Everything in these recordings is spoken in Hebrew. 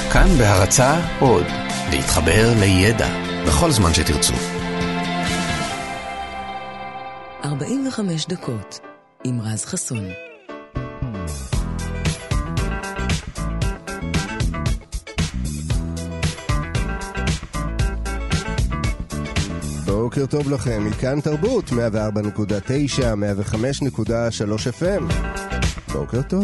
כאן בהרצאה עוד, להתחבר לידע בכל זמן שתרצו. 45 דקות עם רז חסון. בוקר טוב לכם, מכאן תרבות 104.9, 105.3 FM. בוקר טוב.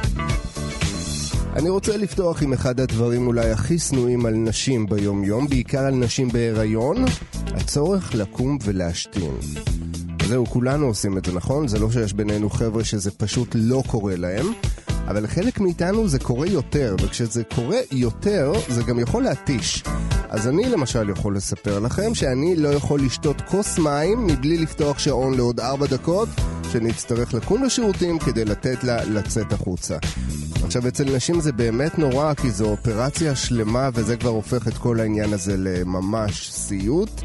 אני רוצה לפתוח עם אחד הדברים אולי הכי סנועים על נשים ביום יום, בעיקר על נשים בהיריון, הצורך לקום ולהשתין. זהו, כולנו עושים את זה, נכון? זה לא שיש בינינו חבר'ה שזה פשוט לא קורה להם, אבל חלק מאיתנו זה קורה יותר, וכשזה קורה יותר זה גם יכול להתיש. אז אני למשל יכול לספר לכם שאני לא יכול לשתות כוס מים מבלי לפתוח שעון לעוד 4 דקות, שנצטרך לקום לשירותים כדי לתת לה לצאת החוצה. עכשיו, אצל נשים זה באמת נורא, כי זו אופרציה שלמה, וזה כבר הופך את כל העניין הזה לממש סיוט,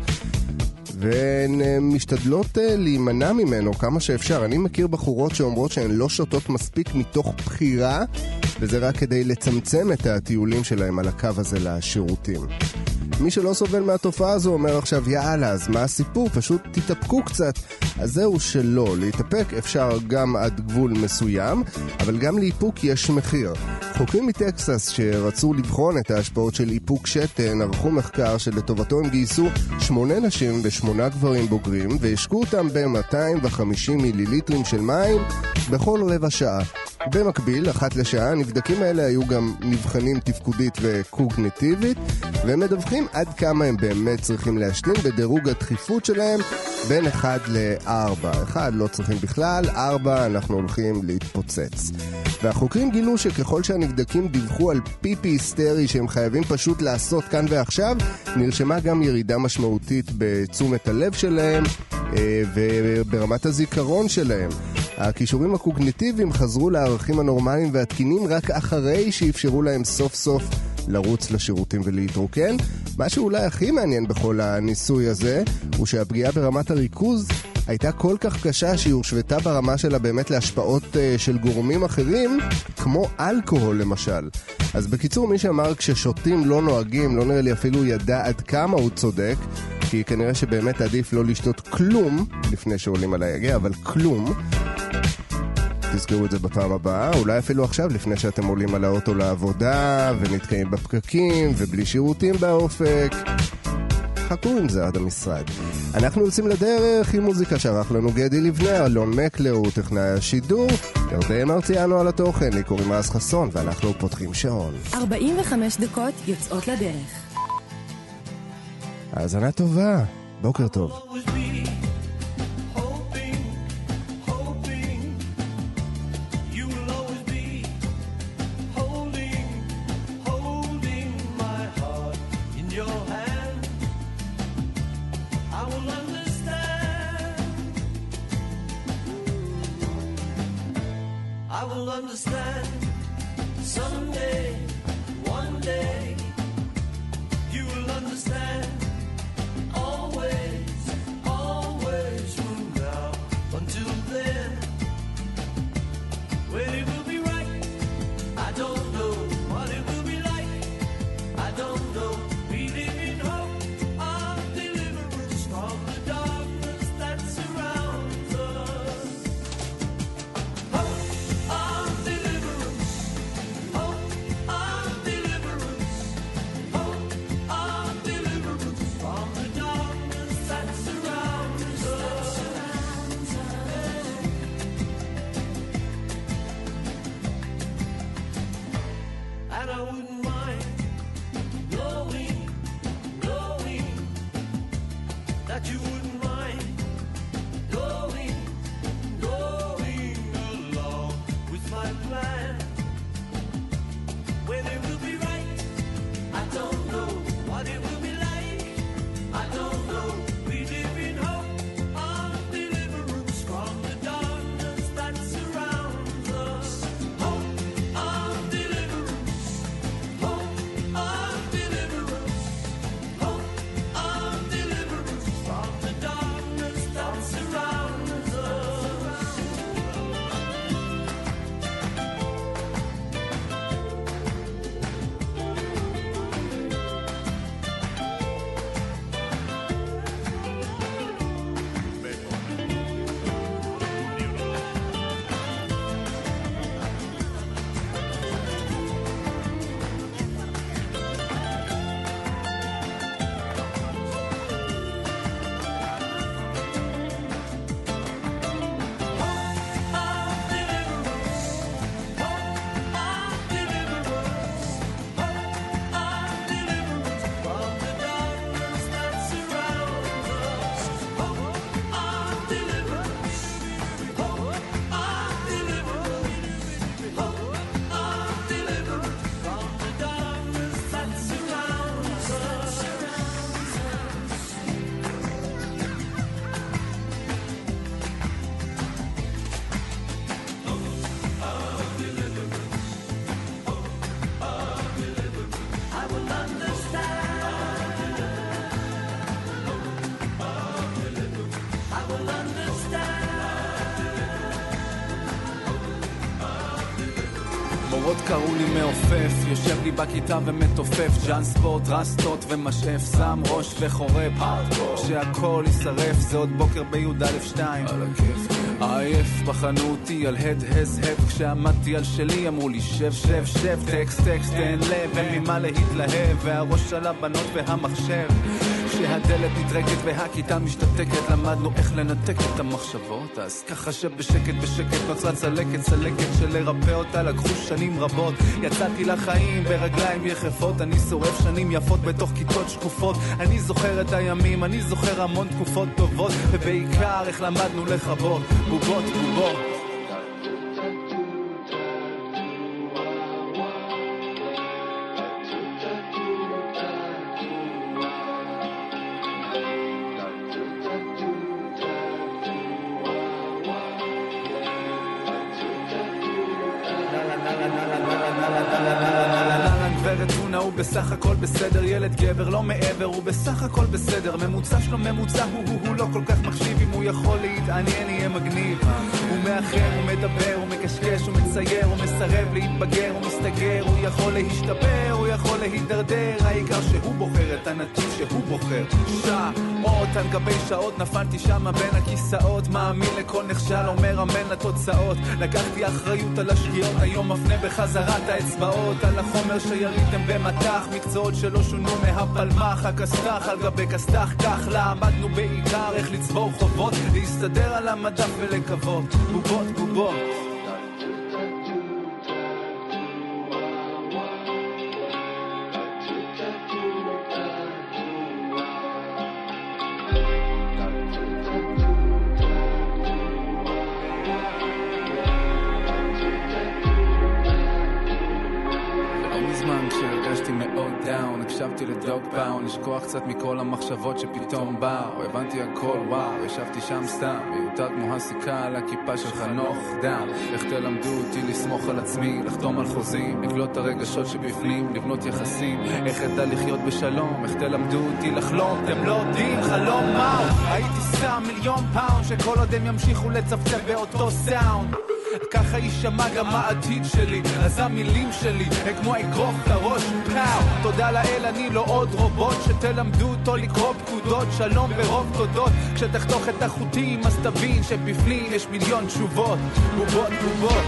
והן משתדלות להימנע ממנו כמה שאפשר. אני מכיר בחורות שאומרות שהן לא שותות מספיק מתוך בחירה, וזה רק כדי לצמצם את הטיולים שלהם על הקו הזה לשירותים. מי שלא סובל מהתופעה הזו אומר עכשיו, יאללה, אז מה הסיפור? פשוט תתאפקו קצת. אז זהו שלא, להתאפק אפשר גם עד גבול מסוים, אבל גם לאיפוק יש מחיר. חוקרים מטקסס שרצו לבחון את ההשפעות של איפוק שתן, ערכו מחקר שלטובתו הם גייסו 8 נשים ו8 גברים בוגרים, והשקו אותם ב-250 מיליליטרים של מים בכל רבע שעה. במקביל, אחת לשעה, הנבדקים האלה היו גם נבחנים תפקודית וקוגניטיבית, והם מדווחים עד כמה הם באמת צריכים להשתין בדירוג הדחיפות שלהם בין 1 ל-4. 1 לא צריכים בכלל, 4 אנחנו הולכים להתפוצץ. והחוקרים גילו שככל שהנבדקים דיווחו על פיפי היסטרי שהם חייבים פשוט לעשות כאן ועכשיו, נרשמה גם ירידה משמעותית בתשומת הלב שלהם וברמת הזיכרון שלהם. הכישורים הקוגניטיביים חזרו לערכים הנורמליים והתקינים רק אחרי שאפשרו להם סוף סוף לרוץ לשירותים ולהתרוקן. מה שאולי הכי מעניין בכל הניסוי הזה הוא שהפגיעה ברמת הריכוז הייתה כל כך קשה שהיא הושוותה ברמה שלה באמת להשפעות של גורמים אחרים, כמו אלכוהול למשל. אז בקיצור, מי שאמר כששותים לא נוהגים, לא נראה לי אפילו ידע עד כמה הוא צודק, כי כנראה שבאמת עדיף לא לשתות כלום לפני שעולים על היגע, אבל כלום. תזכרו את זה בפעם הבאה, אולי אפילו עכשיו לפני שאתם עולים על האוטו לעבודה ונתקעים בפקקים ובלי שירותים באופק. חכו עם זה עד המשרד. אנחנו יוצאים לדרך עם מוזיקה שערך לנו גדי לבנה, אלון מקלר הוא טכנאי השידור, ירדן מרציאנו על התוכן, לי קוראים רז חסון ואנחנו פותחים שעון. 45 דקות יוצאות לדרך. האזנה טובה, בוקר טוב. Understand someday, one day, you will understand. Always, always from now until then. When it will be right, I don't know. What it will be like, I don't know. We live in hope of deliverance from the darkness that surrounds us. Hope of deliverance, hope of deliverance, hope of deliverance from the darkness that surrounds us. And I wouldn't mind knowing that you wouldn't mind going along with my plan. When it will be right, I don't know. What it will be like, I don't know. We live in hope of deliverance from the darkness that surrounds us. Hope of deliverance, המורות קראו לי מעופף, יושב לי בכיתה ומתופף, ג'אן ספורט, רסטות ומשאף, שם ראש וחורף, שהכל יישרף, זה עוד בוקר בי"א2 על הכיף. עייף בחנו אותי על הד הזהב, כשעמדתי על שלי אמרו לי שב שב שב, טקסט טקסט אין לב, אין ממה להתלהב, והראש על הבנות והמחשב, כשהדלת נטרקת והכיתה משתתקת, למדנו איך לנתק את המחשבות, אז ככה שבשקט בשקט נוצרה צלקת, צלקת שלרפא אותה לקחו שנים רבות. יצאתי לחיים ברגליים יחפות, אני שורף שנים יפות בתוך כיתות שקופות, אני זוכר את הימים, אני זוכר המון תקופות טובות, ובעיקר איך למדנו לחבות בובות בובות. הוא בסך הכל בסדר, ילד גבר לא מעבר, הוא בסך הכל בסדר, ממוצע שלו ממוצע, הוא לא כל כך מחשיב, אם הוא יכול להתעניין יהיה מגניב, הוא מאחר, הוא מדבר, הוא מקשקש, הוא מצייר, הוא מסרב להתבגר, הוא מסתגר, הוא יכול להשתפר, הוא יכול להידרדר, העיקר שהוא בוחר את הנתיב שהוא בוחר. שעות על גבי שעות נפלתי שמה בין הכיסאות, מאמין לכל נכשל, אומר אמן לתוצאות, לקחתי אחריות על השגיאות, היום מפנה בחזרת האצבעות על החומר שיריתם במתח, מקצועות שלא שונו מהפלמח, הכסתח על גבי כסתח, כך למדנו בעיקר איך לצבור חובות, להסתדר על המדף ולקוות בובות בובות. הקשבתי לדוג פאון, לשכוח קצת מכל המחשבות שפתאום באו, הבנתי הכל, וואו, ישבתי שם סתם, מיותר כמו הסיכה על הכיפה של חנוך דם, איך תלמדו אותי לסמוך על עצמי, לחתום על חוזים, לקלוט את הרגשות שבפנים, לבנות יחסים, איך אדע לחיות בשלום, איך תלמדו אותי לחלום, אתם לא יודעים חלום מהו, הייתי שם מיליון פאונד, שכל עוד הם ימשיכו לצפצף באותו סאונד, ככה יישמע גם העתיד שלי, אז המילים שלי הם כמו אגרוף לראש, פאו, תודה לאל אני לא עוד רובוט, שתלמדו אותו לקרוא פקודות, שלום ברוב תודות, כשתחתוך את החוטים אז תבין שבפנים יש מיליון תשובות, בובות בובות.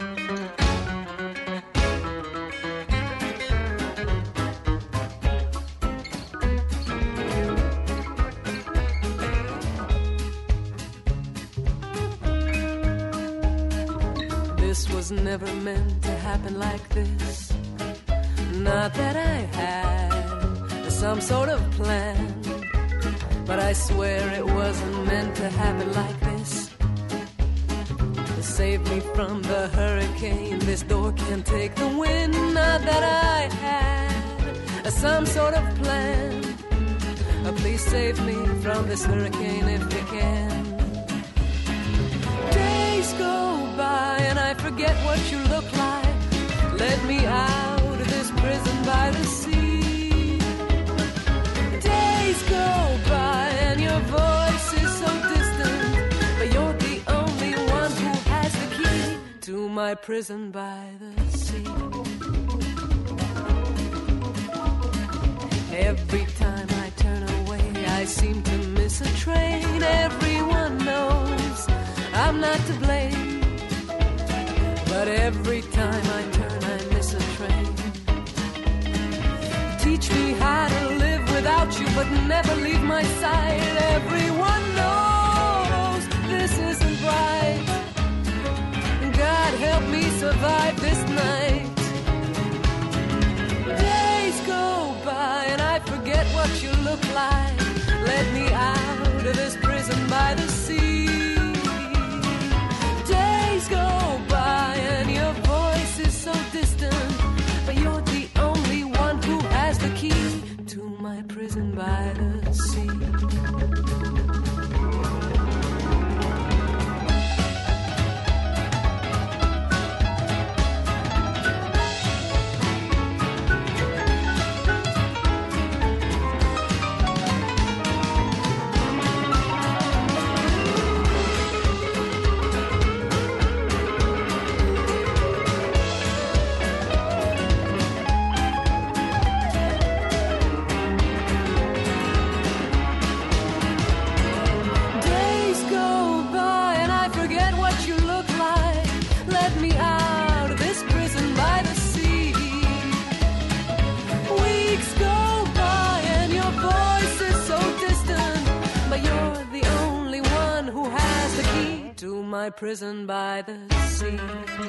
Never meant to happen like this. Not that I had some sort of plan, but I swear it wasn't meant to happen like this. Save me from the hurricane, this door can't take the wind. Not that I had some sort of plan, please save me from this hurricane if you can. Days go by and I forget what you look like. Let me out of this prison by the sea. Days go by and your voice is so distant, but you're the only one who has the key to my prison by the sea. Every time I turn away I seem to miss a train. Everyone knows I'm not to blame, but every time I turn I miss a train. Teach me how to live without you, but never leave my side. Everyone knows this isn't right. God help me survive this night. Days go by and I forget what you look like. Let me out of this prison by the sea. Days go by and your voice is so distant, but you're the only one who has the key to my prison by the sea. my prison by the sea.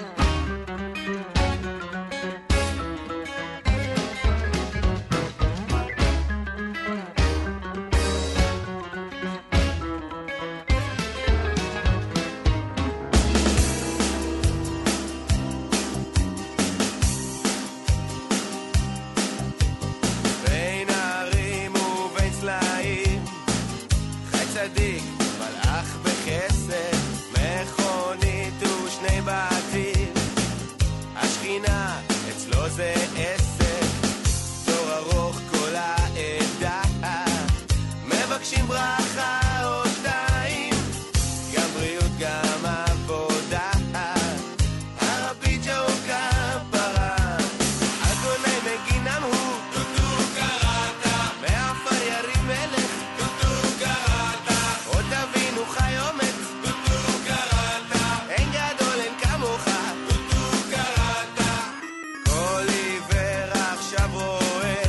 בין הערים ובין סלעים חי צדיק מלאך בחסד מכונית ושני בתים השכינה אצלו זה עסק תור ארוך כל העדה מבקשים ברכה או שתיים גם בריאות גם עבודה הרבי ג'ו כפרה אדוני מגינם הוא טוטו קראתה מעפר ירים מלך טוטו קראתה עוד אבינו חי עומד טוטו קראתה אין גדול אין כמוך טוטו קראתה כל עיוור עכשיו רואה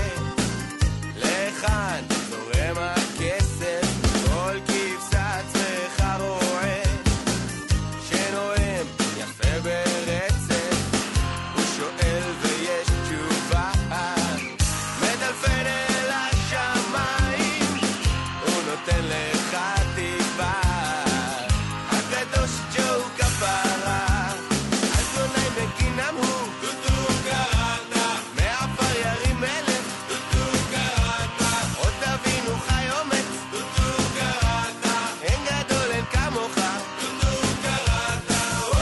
לכאן זורם הכסף כל כבשה צריכה רועה שנואם יפה ברצף הוא שואל ויש תשובה מדלפן אל השמיים הוא נותן לך תקווה הקדוש ג'ו כפרה אדוני מגינם הוא טוטו קראתה מעפר ירים מלך טוטו קראתה עוד אבינו חי עומד טוטו קראתה אין גדול אין כמוך טוטו קראתה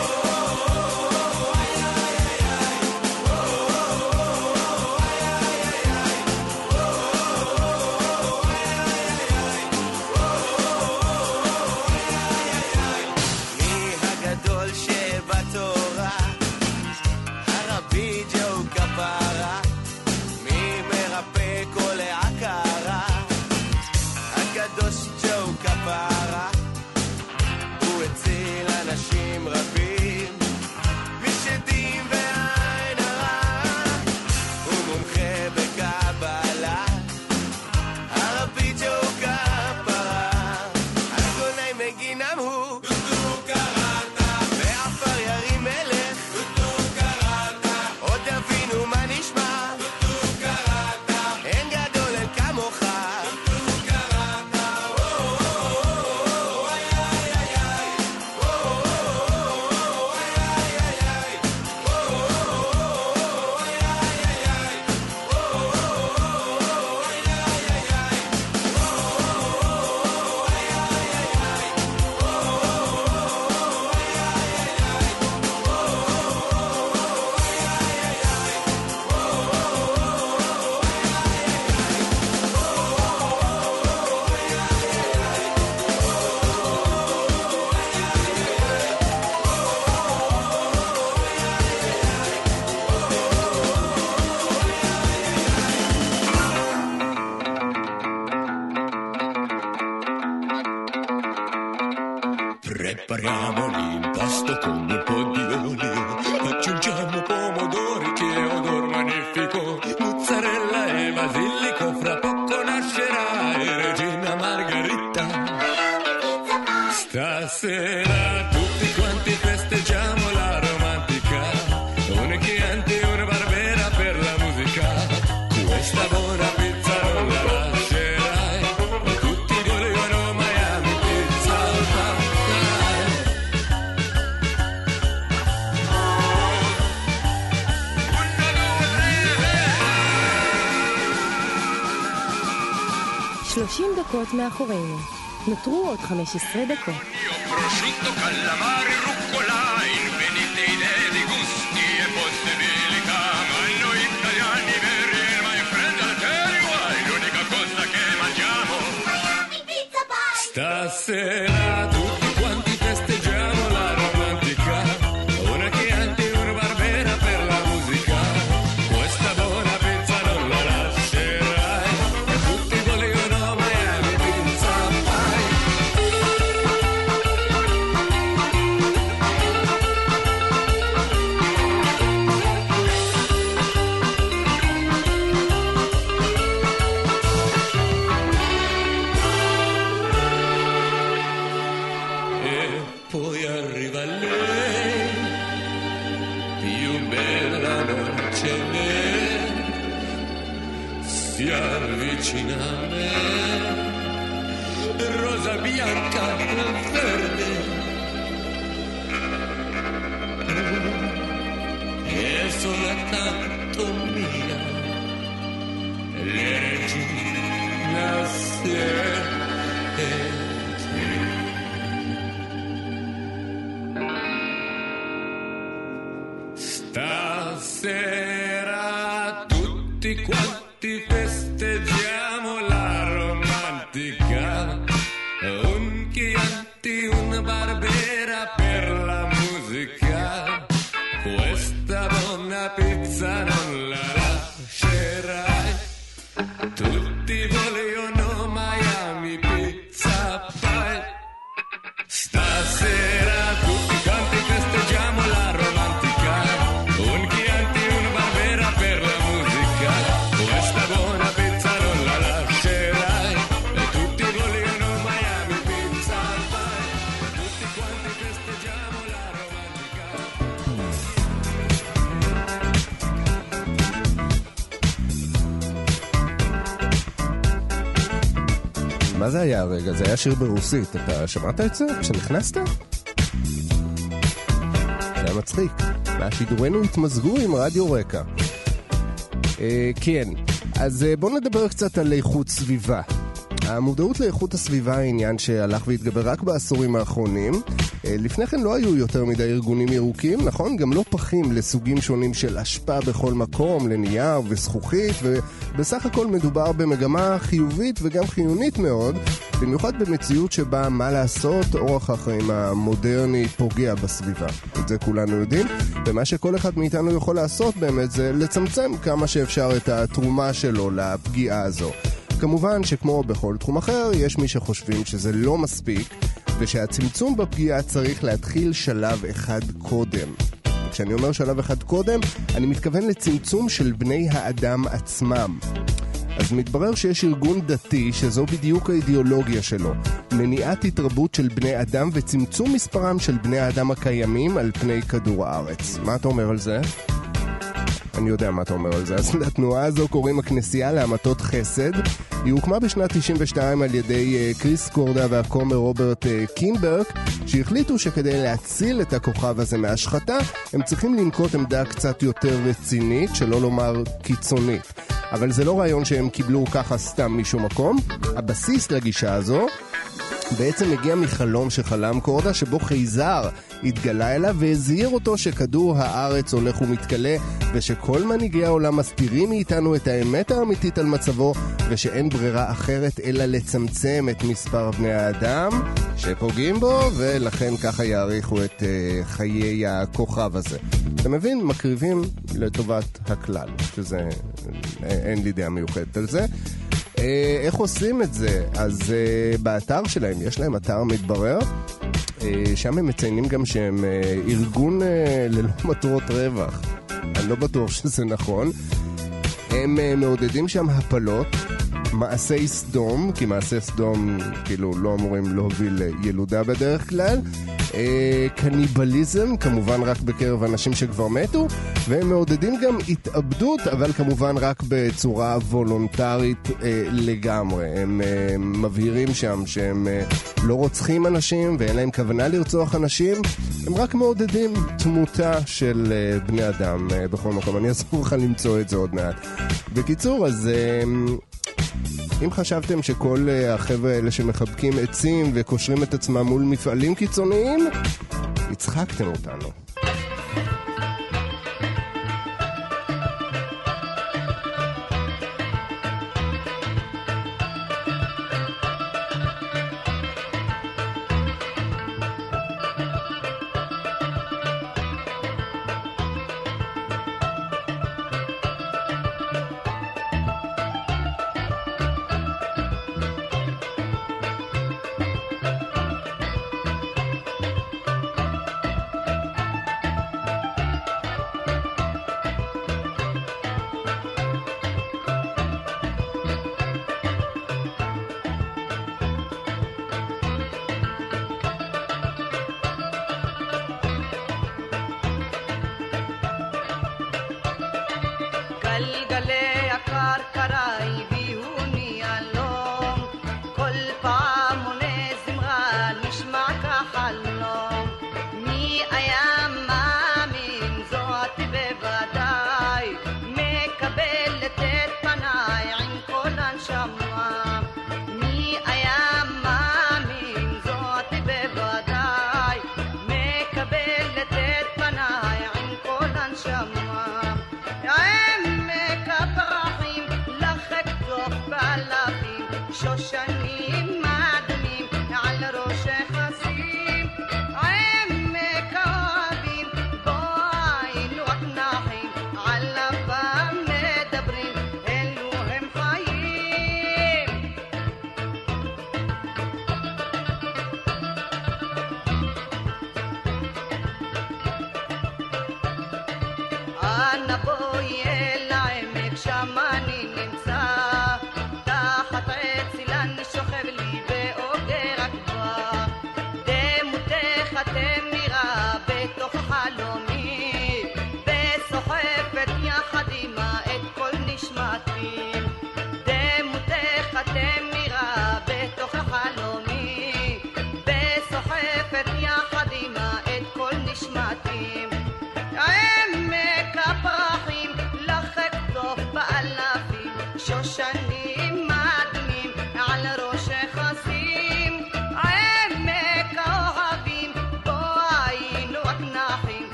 מי הגדול שבתורה הרבי ג'ו כפרה מי מרפא כל העקרה הקדוש ג'ו כפרה הוא הציל אנשים רבים משדים ועין הרע הוא מומחה בקבלה הרבי ג'ו כפרה אדוני מגינם הוא טוטו קראתה מעפר ירים מלך טוטו קראתה עוד אבינו מה נשמע טוטו קראתה אין גדול אין כמוך טוטו קראתה Prepariamo l'impasto con un po' di olio, aggiungiamo pomodori che odor magnifico, mozzarella e basilico, fra poco nascerà e Regina Margherita. Stasera tutti quanti festeggiamo la romantica, un chianti e una barbera per la musica, questa buona pizza non la lascerai, e tutti vogliono Miami Pizza Pie. דקות מאחורינו. נותרו עוד 15 דקות. Prosciutto, calamari, rucola, infinite idee di gusti e possibilità, ma noi italiani veri, my friend, I'll tell you why, l'unica cosa che mangiamo stasera tutti quanti festeggiamo la romantica, una chianti, una barbera per la musica, questa buona pizza non la lascerai, e tutti vogliono Miami Pizza Pie. si avvicina a me, rosa bianca verde, e soltanto mia, le regina siete te. Stasera tutti quanti festeggiamo la romantica, un Chianti, una Barbera per la musica, questa buona pizza non la lascerai, tutti vogliono Miami Pizza Pie. Stasera tutti quanti festeggiamo la romantica, un Chianti, una Barbera per la musica, questa buona pizza non la lascerai, e tutti vogliono Miami Pizza Pie. Tutti quanti festeggiamo la romantica. מה זה היה הרגע? זה היה שיר ברוסית. אתה שמעת את זה כשנכנסת? זה היה מצחיק. והשידורנו התמזגו עם רדיו רקע. כן, אז בואו נדבר קצת על איכות סביבה. המודעות לאיכות הסביבה היא עניין שהלך והתגבר רק בעשורים האחרונים. לפני כן לא היו יותר מדי ארגונים ירוקים, נכון? גם לא פחים לסוגים שונים של אשפה בכל מקום, לנייר וזכוכית, ובסך הכל מדובר במגמה חיובית וגם חיונית מאוד, במיוחד במציאות שבה מה לעשות, אורח החיים המודרני פוגע בסביבה. את זה כולנו יודעים, ומה שכל אחד מאיתנו יכול לעשות באמת זה לצמצם כמה שאפשר את התרומה שלו לפגיעה הזו. כמובן שכמו בכל תחום אחר, יש מי שחושבים שזה לא מספיק, ושהצמצום בפגיעה צריך להתחיל שלב אחד קודם. כשאני אומר שלב אחד קודם, אני מתכוון לצמצום של בני האדם עצמם. אז מתברר שיש ארגון דתי שזו בדיוק האידיאולוגיה שלו. מניעת התרבות של בני אדם וצמצום מספרם של בני האדם הקיימים על פני כדור הארץ. מה אתה אומר על זה? אני יודע מה אתה אומר על זה. אז לתנועה הזו קוראים הכנסייה להמתות חסד. היא הוקמה בשנת 92 על ידי קריס קורדה והכומר רוברט קינברג, שהחליטו שכדי להציל את הכוכב הזה מהשחתה, הם צריכים לנקוט עמדה קצת יותר רצינית, שלא לומר קיצונית. אבל זה לא רעיון שהם קיבלו ככה סתם משום מקום. הבסיס לגישה הזו בעצם מגיע מחלום שחלם קורדה, שבו חייזר התגלה אליו והזהיר אותו שכדור הארץ הולך ומתקלה, ושכל מנהיגי העולם מסתירים מאיתנו את האמת האמיתית על מצבו, ושאין ברירה אחרת אלא לצמצם את מספר בני האדם שפוגעים בו, ולכן ככה יעריכו את חיי הכוכב הזה. אתה מבין? מקריבים לטובת הכלל, שזה אין לי דעה מיוחדת על זה. איך עושים את זה? אז באתר שלהם, יש להם אתר מתברר, שם הם מציינים גם שהם ארגון ללא מטרות רווח. אני לא בטוח שזה נכון. הם מעודדים שם הפלות, מעשי סדום, כי מעשי סדום כאילו לא אמורים להוביל ילודה בדרך כלל, קניבליזם, כמובן רק בקרב אנשים שכבר מתו, והם מעודדים גם התאבדות, אבל כמובן רק בצורה וולונטרית לגמרי. הם מבהירים שם שהם לא רוצחים אנשים ואין להם כוונה לרצוח אנשים, הם רק מעודדים תמותה של בני אדם בכל מקום. אני אסור לך למצוא את זה עוד מעט. בקיצור, אז אם חשבתם שכל החבר'ה האלה שמחבקים עצים וקושרים את עצמם מול מפעלים קיצוניים, הצחקתם אותנו. גלגלי הכרכרה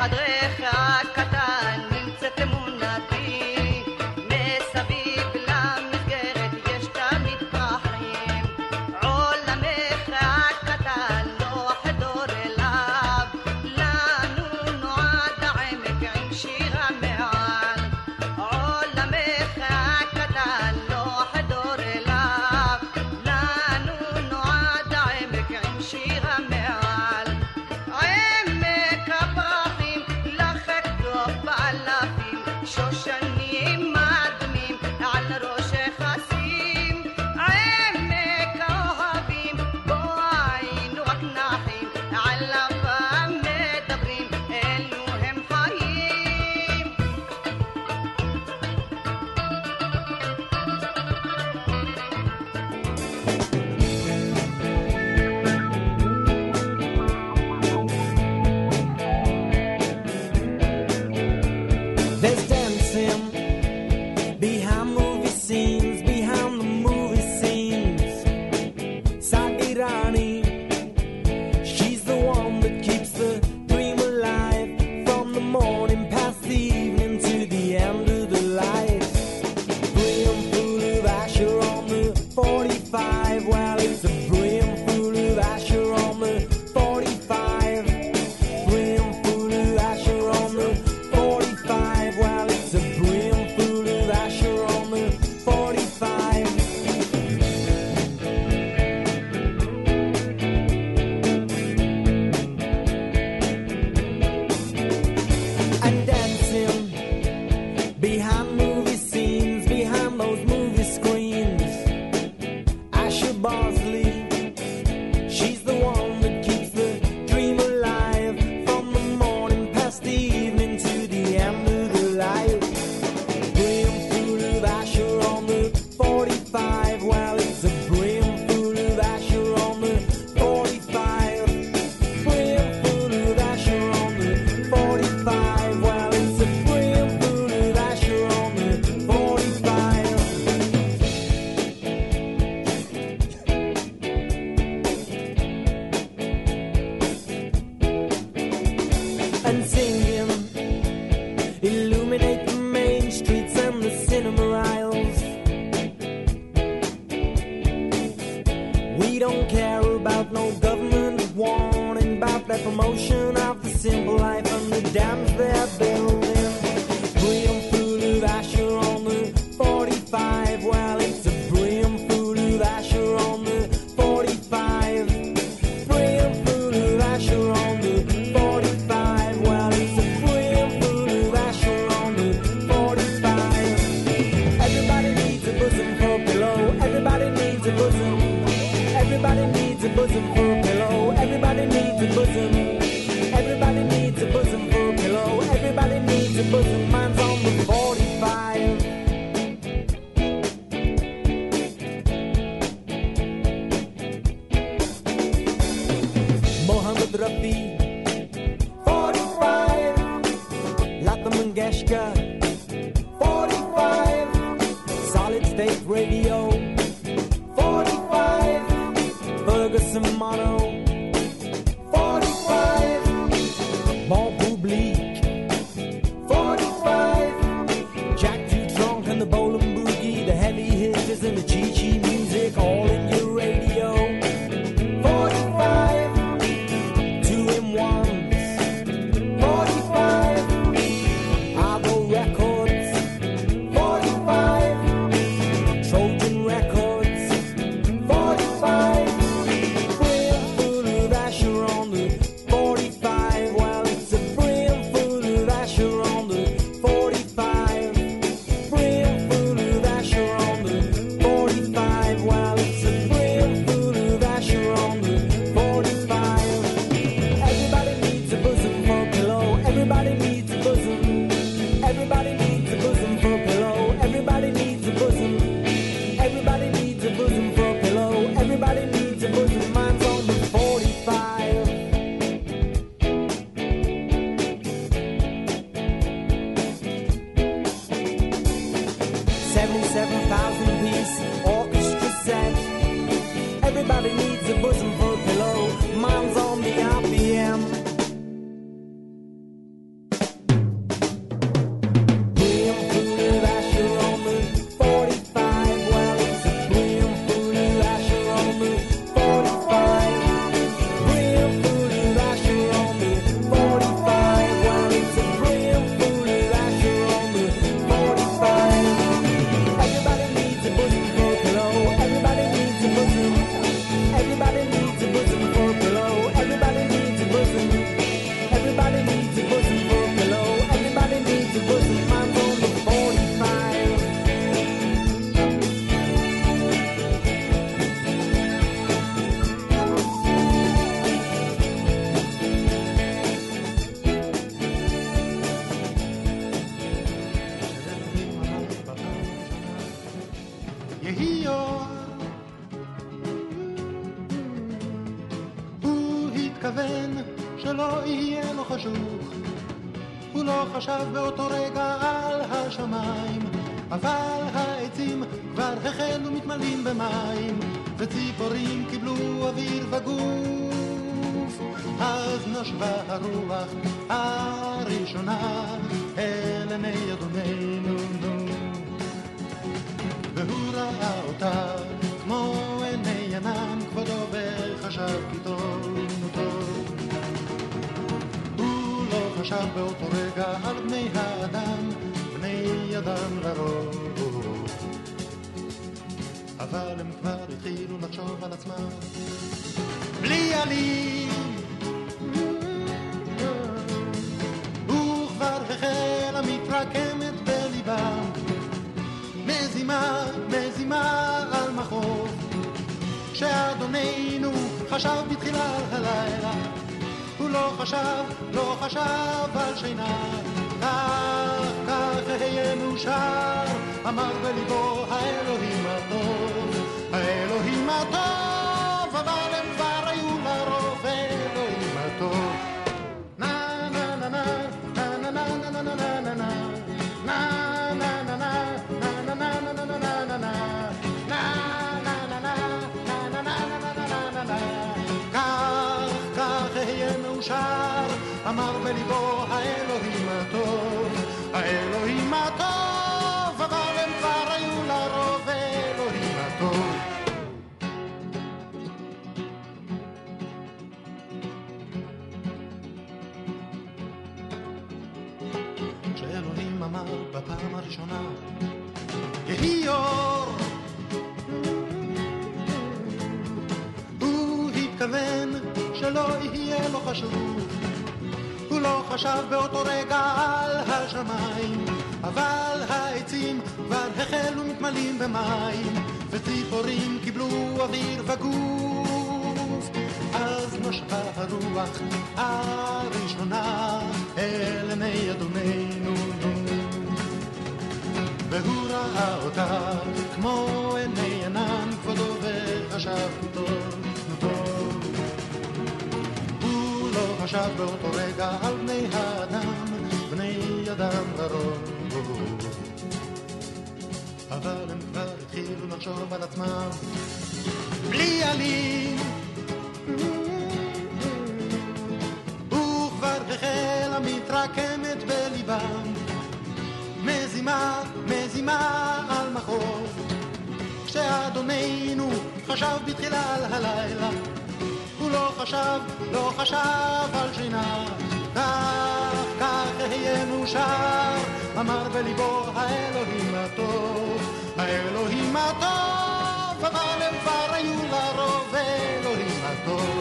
בחדרך הקטן נמצאת אמונתי, מסביב למסגרת יש תמיד פרחים, עולמך הקטן לא חדור אליו, לנו נועד העמק עם שירה מעל, עולמך הקטן לא חדור אליו, לנו נועד העמק עם שירה מעל, עמק הפרחים לחק טוב באלפים, שושנים אדמים על ראשך אשים, עמק האוהבים בו היינו רק נחים, עליו המדברים אלו הם חיים. There's dancing behind movie scenes, behind the movie scenes. Sagirani, she's the one that keeps the dream alive, from the morning past the evening to the end of the light. Brimful of Asher on the 45, well it's a brimful of Asher on the 45. Brimful of Asher on the 45, well it's a brimful of Asher on the 45. And dancing behind movie scenes, behind those movie screens, Asher Bosley, she's the one that keeps the dream alive, from the morning past the evening to the end of the light. Brimful of Asher on the 45, well it's a brimful of Asher on the 45. Brimful of Asher on the 45, well it's a brimful of Asher on the 45. And singing, illuminate the main streets and the cinema aisles. We don't care about no government warning about their promotion of the simple life and the dams they're building. Brimful of Asher on the 45, well it's a brimful of Asher on the 45. Brimful of Asher on the 45, well it's a brimful of Asher on the 45. Everybody needs a bosom for a pillow, everybody needs a bosom. Everybody needs a bosom for a pillow, everybody needs a bosom. Everybody needs a bosom for a pillow, everybody needs a bosom, mine's on the 45. Mohammed Rafi, 45. Lata Mangeshkar, 45. Solid State Radio, 45. Ferguson Mono, 45. Bon Public, 45. Jack Too Drunk and the Bowling Boogie, the heavy hitters and the Chi-Chi music, all in your radio, 45. 2-in-1s, 45. Argo Records, 45. Trojan Records, 45. Brimful of Asher on the 45, well it's a brimful of Asher on the 45. Brimful of Asher on the 45, well it's a התכוון שלא יהיה לו חשוך, הוא לא חשב באותו רגע על השמיים, אבל העצים כבר החלו מתמלאים במים, וציפורים קיבלו אוויר וגוף. אז נשבה הרוח הראשונה אל עיני אדוננו, והוא ראה אותה כמו עיני ענן כבודו, וחשב כי טוב טוב. הוא לא חשב באותו רגע על בני האדם, בני אדם לרוב, אבל הם כבר התחילו לחשוב על עצמם בלי עלים. וכבר החלה מתרקמת בליבם מזימה, מזימה על מחוב, שאדוננו חשב בתחילה על הלילה, הוא לא חשב, לא חשב על שינה. כך יהיה מאושר, אמר בליבו האלוהים הטוב, האלוהים הטוב, אבל הם כבר היו לרוב האלוהים הטוב. נה נה נה נה נה נה נה נה נה נה נה אמר בליבו האלוהים הטוב, האלוהים הטוב, אבל הם כבר היו לרוב האלוהים הטוב. כשאלוהים אמר בפעם הראשונה יהי אור, הוא התכוון שלא יהיה לו חשוב, הוא לא חשב באותו רגע על השמיים, אבל העצים כבר החלו מתמלאים במים, וציפורים קיבלו אוויר וגוף. אז נשבה הרוח הראשונה אל עיני אדוננו, והוא ראה אותה כמו עיני ענן כבודו, וחשב טוב טוב. הוא לא חשב באותו רגע על בני האדם, בני אדם לרוב, אבל הם כבר התחילו לחשוב על עצמם בלי עלים. וכבר החלה מתרקמת בליבם מזימה, מזימה על מחוב, כשאדוננו חשב בתחילה על הלילה, הוא לא חשב, לא חשב על שינה. כך יהיה מאושר, אמר בליבו האלוהים הטוב, האלוהים הטוב, אבל הם כבר היו לרוב האלוהים הטוב.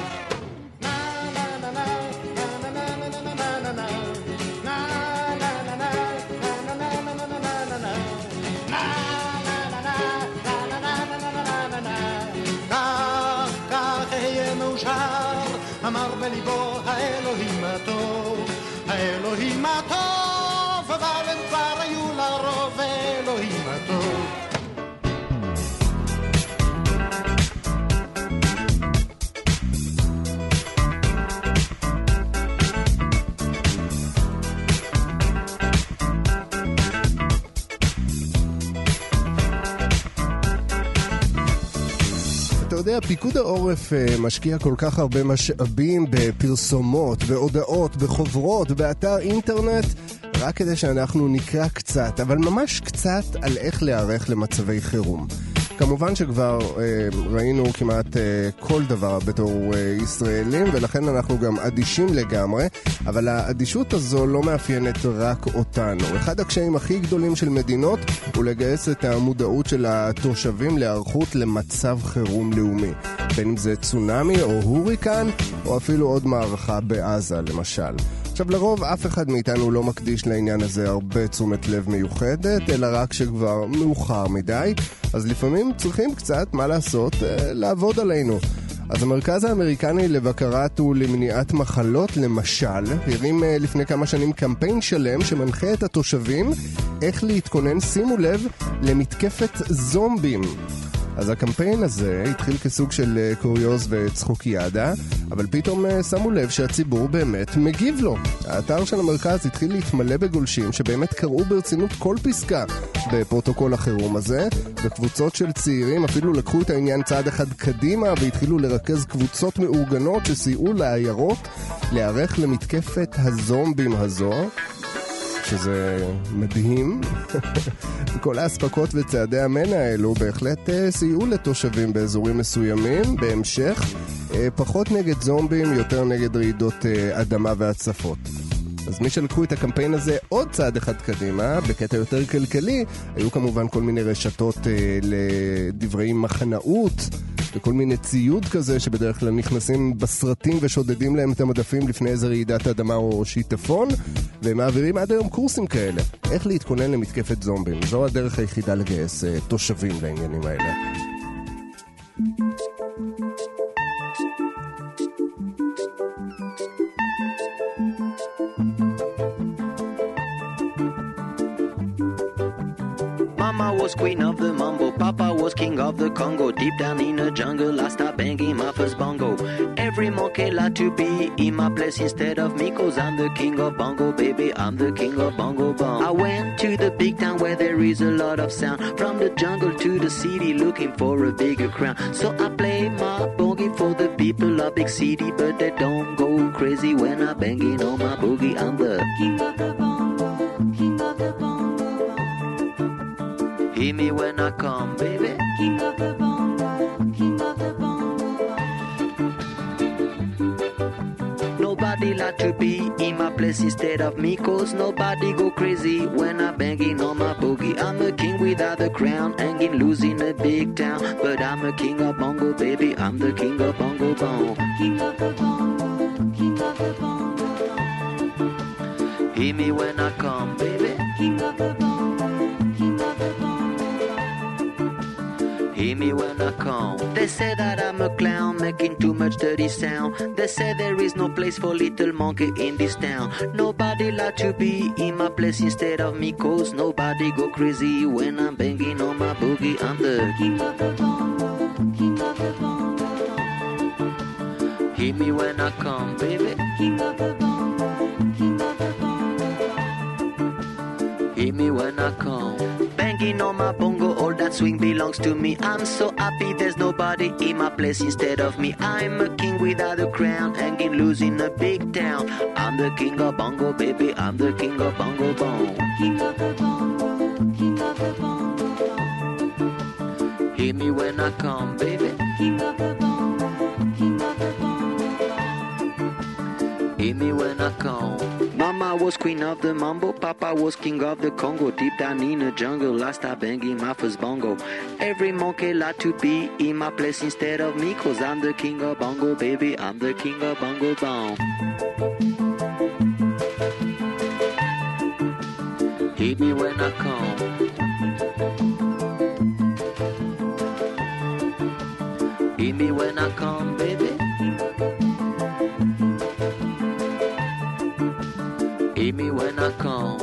אמר בליבו האלוהים הטוב, האלוהים הטוב, אבל הם כבר היו לרוב האלוהים הטוב. אתה יודע, פיקוד העורף משקיע כל כך הרבה משאבים בפרסומות, בהודעות, בחוברות, באתר אינטרנט, רק כדי שאנחנו נקרא קצת, אבל ממש קצת על איך להיערך למצבי חירום. כמובן שכבר ראינו כמעט כל דבר בתור ישראלים, ולכן אנחנו גם אדישים לגמרי, אבל האדישות הזו לא מאפיינת רק אותנו. אחד הקשיים הכי גדולים של מדינות הוא לגייס את המודעות של התושבים להיערכות למצב חירום לאומי, בין אם זה צונאמי או הוריקן, או אפילו עוד מערכה בעזה למשל. עכשיו, לרוב אף אחד מאיתנו לא מקדיש לעניין הזה הרבה תשומת לב מיוחדת, אלא רק שכבר מאוחר מדי, אז לפעמים צריכים קצת, מה לעשות, לעבוד עלינו. אז המרכז האמריקני לבקרת ולמניעת מחלות, למשל, הרים לפני כמה שנים קמפיין שלם שמנחה את התושבים איך להתכונן, שימו לב, למתקפת זומבים. אז הקמפיין הזה התחיל כסוג של קוריוז וצחוקיאדה, אבל פתאום שמו לב שהציבור באמת מגיב לו. האתר של המרכז התחיל להתמלא בגולשים שבאמת קראו ברצינות כל פסקה בפרוטוקול החירום הזה, וקבוצות של צעירים אפילו לקחו את העניין צעד אחד קדימה והתחילו לרכז קבוצות מאורגנות שסייעו לעיירות להיערך למתקפת הזומבים הזו, שזה מדהים. כל האספקות וצעדי המנע האלו בהחלט סייעו לתושבים באזורים מסוימים. בהמשך, פחות נגד זומבים, יותר נגד רעידות אדמה והצפות. אז מי שלקחו את הקמפיין הזה עוד צעד אחד קדימה, בקטע יותר כלכלי, היו כמובן כל מיני רשתות לדברי מחנאות, וכל מיני ציוד כזה שבדרך כלל נכנסים בסרטים ושודדים להם את המדפים לפני איזה רעידת אדמה או שיטפון, והם מעבירים עד היום קורסים כאלה. איך להתכונן למתקפת זומבים. זו הדרך היחידה לגייס תושבים לעניינים האלה. Mama was queen of the mambo, Papa was king of the Congo. Deep down in the jungle, I start banging my first bongo. Every monkey like to be in my place instead of me, 'cause I'm the king of bongo, baby, I'm the king of bongo bong. I went to the big town where there is a lot of sound. From the jungle to the city, looking for a bigger crown. So I play my boogie for the people of big city, but they don't go crazy when I'm banging on my boogie. I'm the king of the bongo, king of the bongo. Hear me when I come, baby. King of the bongo, king of the bongo. Nobody like to be in my place instead of me, 'cause nobody go crazy when I'm banging on my boogie. I'm a king without a crown, hanging loose in a big town, but I'm a king of bongo, baby. I'm the king of bongo bong. King of the bongo, king of the bongo. Hear me when I come, baby. King of the bongo, king of the bongo. Hear me when I come. They say that I'm a clown, making too much dirty sound. They say there is no place for little monkey in this town. Nobody like to be in my place instead of me, 'cause nobody go crazy when I'm banging on my boogie. I'm the king of the bongo, king of the bongo. Hear me when I come, baby. King of the bongo, king of the bongo. Hear me when I come. Banging on my bongo, all that swing belongs to me. I'm so happy there's nobody in my place instead of me. I'm a king without a crown, hanging loose in a big town. I'm the king of bongo, baby. I'm the king of bongo bong. King of the bongo, king of the bongo bong. Hear me when I come, baby. King of the bongo, king of the bongo bong. Hear me when I come. Mama was queen of the mambo, Papa was king of the Congo. Deep down in the jungle, I start banging my first bongo. Every monkey like to be in my place instead of me, 'cause I'm the king of bongo, baby. I'm the king of bongo bong. Hear me when I come. Hear me when I come, baby. Hear me when I come.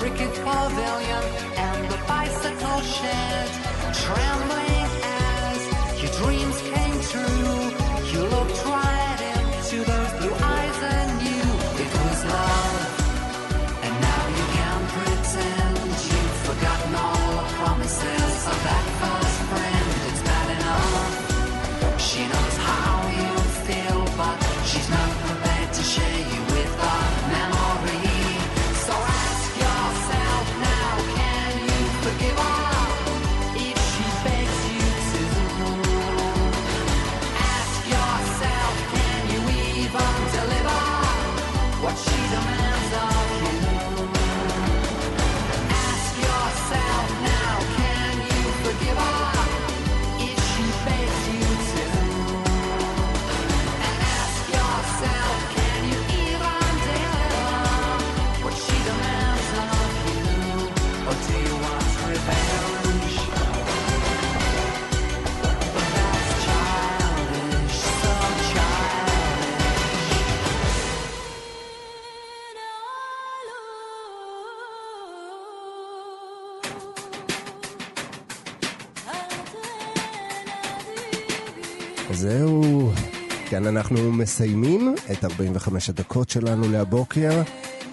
cricket pavilion and the bicycle shed, trembling as your dreams came true. You looked right into those blue eyes and knew it was love. And now you can pretend you've forgotten all the promises of that first friend. It's bad enough. She knows how you feel, but she's not prepared to share you with a memory. So ask yourself now, can you forgive her if she begs you to? Ask yourself, can you even deliver what she demands of you? Ask yourself now, can you forgive her if she begs you to? And ask yourself, can you even deliver what she demands of you? Or do you want revenge? But that's childish, so childish. זהו, כאן אנחנו מסיימים את 45 הדקות שלנו להבוקר.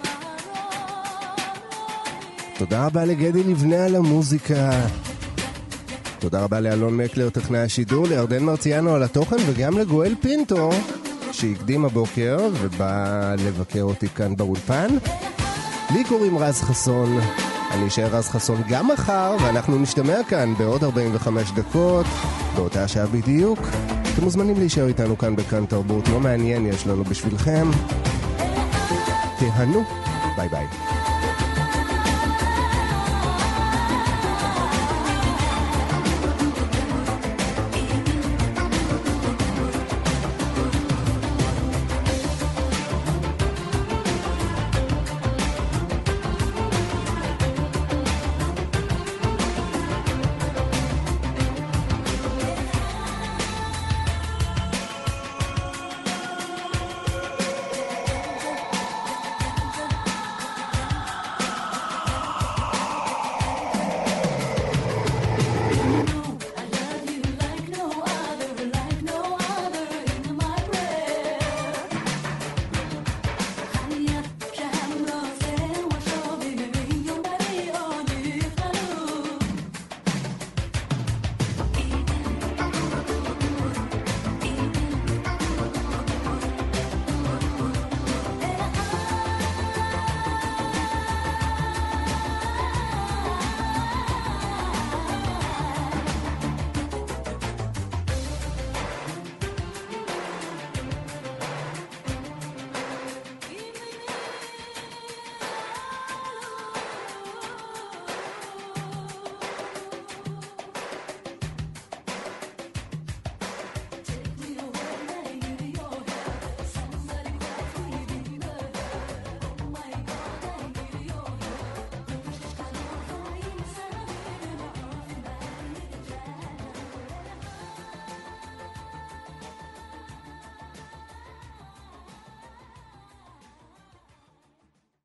תודה רבה לגדי לבנה על המוזיקה. תודה רבה לאלון מקלר, טכנאי השידור, לירדן מרציאנו על התוכן, וגם לגואל פינטו, שהקדים הבוקר ובא לבקר אותי כאן באולפן. לי קוראים רז חסון, אני אשאר רז חסון גם מחר, ואנחנו נשתמע כאן בעוד 45 דקות, באותה שעה בדיוק. אתם מוזמנים להישאר איתנו כאן בכאן תרבות, לא מעניין יש לנו בשבילכם. תהנו, ביי ביי.